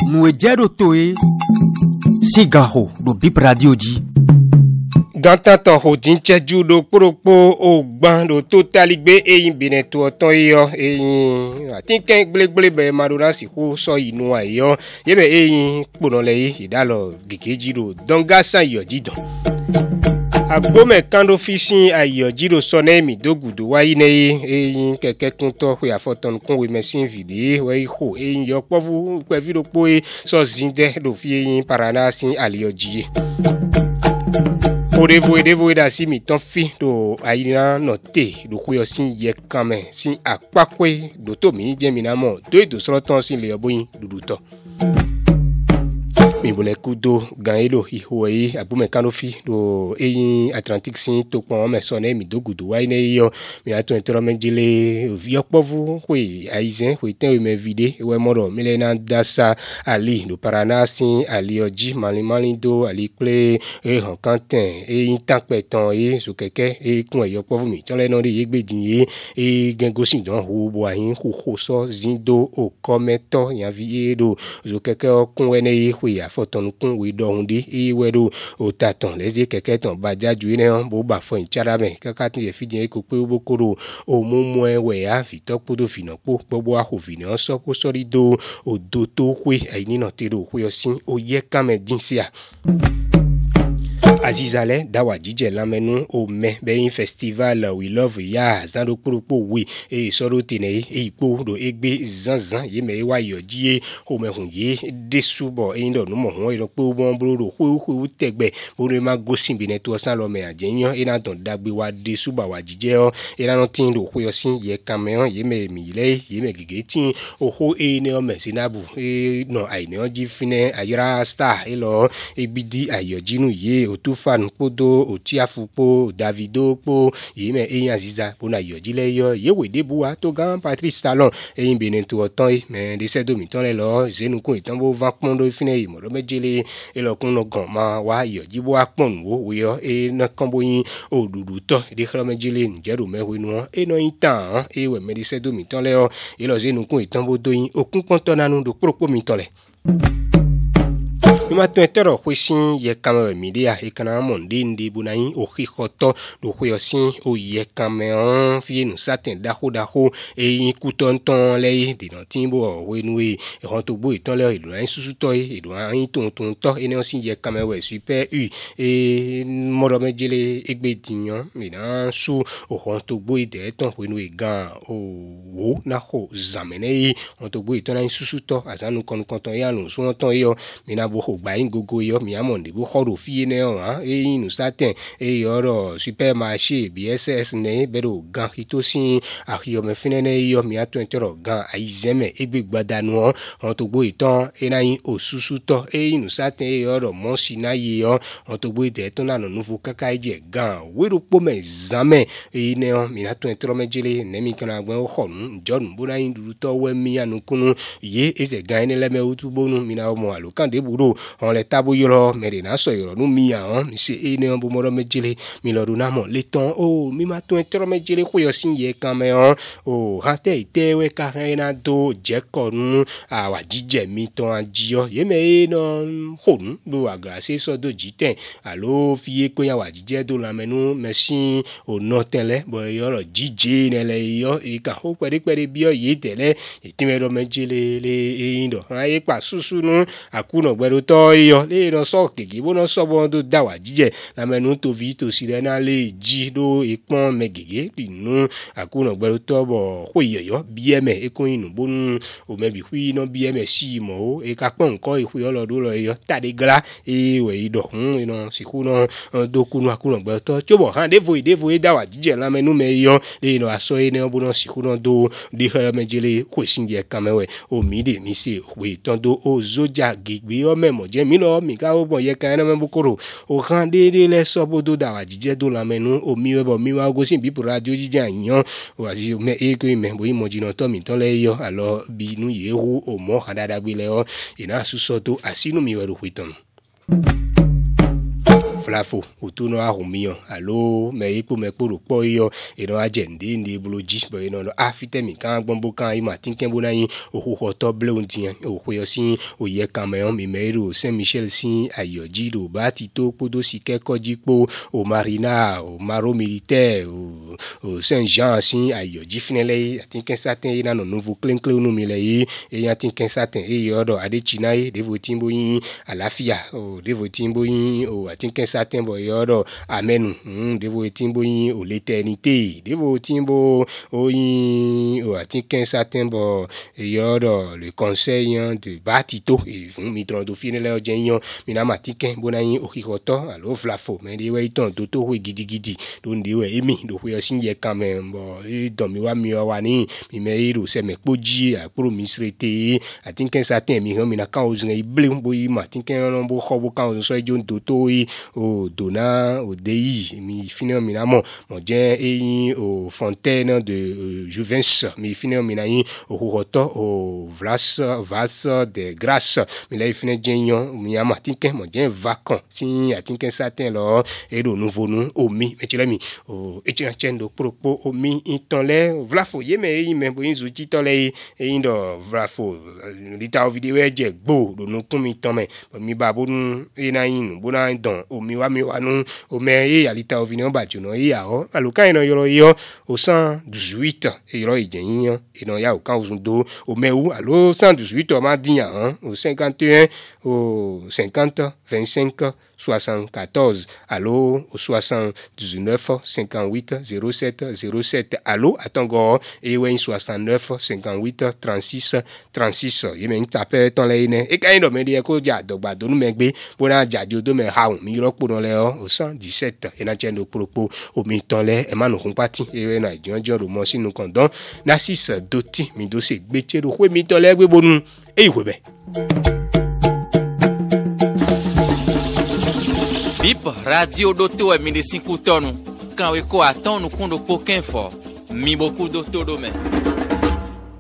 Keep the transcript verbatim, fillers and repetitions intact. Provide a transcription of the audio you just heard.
nous ejero toe sigaho do bip radio di gantantan hodin cheju do poropo ogban do totaligbe eyin bine to otan iyo eyin atinken gbelegble be madura si ko so inu ayo yebe eyin ponole yi idalo gekeji do donga san yo didon agbome kando fishing ayo jiro sone mi dogudo wayi ne eyin keke kunto pe afoton kun we machine video we ho eyin yo povu pe video po so zinde do fi eyin parana sin aliyoji Odevo edevo da si mi ton fi do ayina note do kuyo sin ye kame sin akpakwe do to mi je mi na mo do do so ton sin le oboyin duduto mi bole kudo ganelo iho yi abume kanofi do eyin Atlantic sin to pon me so na mi dogudo wa ine yo mi na to entero menjile vi opovu we aizen we ten me vide we moro mi na dasa ali do parana sin ali oji mali mali do ali ple e han kanten eyin tanpeton yi so keke e kun e opovu mi ton le no de yegbedin yi e gengosin don ho bo ayin ho ho so zindo o kometo yan vi e do so keke okun we ne yi we foton kun we do hunde e wedo o taton lezi keke ton bajaju ine on bo ba fo inchara me kaka tin ye fidin ko pe bo koro o mumu e we a fi to podo fina po gbogbo a ho fini on so ko sori do o do to we aini no te do we osin o ye kame din sia Azizale dawa jije lamenu o me beyin festival we love ya zando poropo we e soro tene e ipo do egbe zanzan ye me wa yoji o me hun ye desubo e ndo no mo won iro pe o bon bro ho ho tegbe bo re ma gosin bi ne to san lo me ajeyan e na ton dagbe wa desuba wa jije o e na no tin do ho yo sin ye kameon ye me mi le ye me gege tin o ho e ne o me sinabu e no ai ne o ji fine ayira star e lo e bidi ayojinu ye o tu fan podo otiafupo Davido po yime eyin Aziza bona yojile yo yewe debuwa to gan Patrice Talon eyin benen to otan e men de sedo mi ton le lo zenukun itan bo van pon do fine yi mo do mejele e lo kun no gan ma wa yojibo apon wo we yo e na kanbo yin odudu to de khlo mejele njero mewe nu e no itan e we me de sedo mi ton le o e lo zenukun itan bo do yin okun konto nanu do propo mi ton le Numa tuentero huisin ye kame media e kana monde ndi bunayin o hikoto do huyosin o ye kame on fie nu satin daho daho e yin kutonton le de no timbo o wenue e hon to bo iton le ilu an susu to e do an ton ton to e ne osin ye kame we super u e moro mejele egbediyan mi na su o hon to bo ide ton wenue gan o wo na ho zamene hon to bo iton an susu to azanu kon konton ya nu so ton yo mi na bo gba yin gogo yo mi amonde bo khoro fie ne o han e yin nu satin e yoro supermarché B S S ne bero gan hitosin ahiyo me fine ne yo mi ato entero gan aizeme egbe gbadanu on on to gbo itan e na yin osusu to e yin nu satin e yoro monsi na ye yo on to gbo ide to na no nufu kaka eje gan weru po me zame e ne on mi ato entero mejele ne mi kana gbo khonu njonu bo na yin duru to we mi anukunu ye eze gan ne le me utubonu mi na mo alokan de buro on le tabo yoro mere na so yoro nu mi an mi se e ne on bo moro mejele mi lo do na mo le ton o mi ma to entero mejele ko yo sin ye kan me on o ha te ite we ka na do je ko nu a wa jije mi ton ajiyo ye me no honu do agra se so do jiten alo fie ko ya wa jije do la menu mesin o no tele bo yoro jije ne le yo e ka ho pere pere bi o ye tele e ti me ro mejele le e indo aye pa susu nu akuno gbero to yo le no so keke bo no so bo do dawa jije la menu to vi to sire na le ji do ipon megege dinu akuno gbero to bo ho yeyo bieme e ko inu bonu o mebi hui no bieme si mo e ka pon ko ihu yo lo do lo yo tade gra e we ido hun ino siku no do kunu akuno gbero to chobo han devo devo e dawa jije la menu me yo le no aso e ne bo no siku no do di hele mejele ko sinje kamewe o mi de mi se we ton do o zoja gigbe o memo je mi lo mi ka o bo ye kan na me bukoro o kan de de le so bodo dawa jije do la menu o mi we bo mi wa go sin bi radio jije yan o asi me e ko me bo imo jino to mi ton le yo alo bi nu ye hu o mo kan dada gbe le o ina su so to asinu mi we ro huiton flafo utuno ahumio alo me ipo me poro po yo e no agende ndi bloji bo no afite mi kan gbonbo kan i ma tinken bona yin ohuho to ble untian ohuyo sin oye Cameroun mi meiro Saint Michel sin ayoji do bati to podo sike kojipo o marina o maro militaire o, o Saint Jean sin ayoji finele tinken satin ina no nouveau clean clean no mi le yi e yan tinken satin e yodo ade china e devotimbo yin alafia o devotimbo yin o tinken satin bo yodo amenu mm, devotimbo yin o l'éternité devotimbo o yin o tinken satin bo yodo le conseil de batito e fun mi tron do finele o jenyon mina matiken bonayin o hikoto alo flafo me de we ton do to we gidigidi do ndi we emi do we sin ye kan me bo e don mi wa mi wa ni mi me iro se me poji a pro misrete a tinken satin mi han mi na kan o zin e ble bo yi ma tinken no bo kho bo kan o so jo do to yi o dona o dei mi finel mi na mo mo jen e o fontaine de uh, Juvens mi finel mi na yin o hoto o vlas vas de grâce mi la finel jenyon mi ama tinken mo jen vacant si a tinken satin lo e do nouveau nou o mi me tire mi o e tire chendo propo o mi inton le vlafo ye me yi me bo yin zu ti to le e yin do vlafo lita o video e je gbo do no kun mi ton me mi ba bo nu e na yin bo na don o mi wa mi wa nu o me e alita o video ba ju no e ya o alukan ino yo yo au cent dix-huit e yo i jen e no ya o kan o do o me ou allo cent dix-huit o ma din hein au cinquante et un au cinquante vingt-cinq soixante-quatorze allo au soixante-dix-neuf cinquante-huit zéro sept zéro sept allo atongo e wen soixante-neuf cinquante-huit trente-six trente-six ye men tape ton le ne e kan do me de ko ja dogba do nu me gbe bona jajo do me ha mi ro po don le o au cent dix-sept e na chen do propo o mi ton le e ma no kun party e we na jonjo ro mo sinu kondon na six doti mi do se gbe che ro we mi ton le gbe bonu e iwe be Bip radio doto e minde cinco tonu. Quand we ko aton no kundo poken fo. Mi boku doto do me.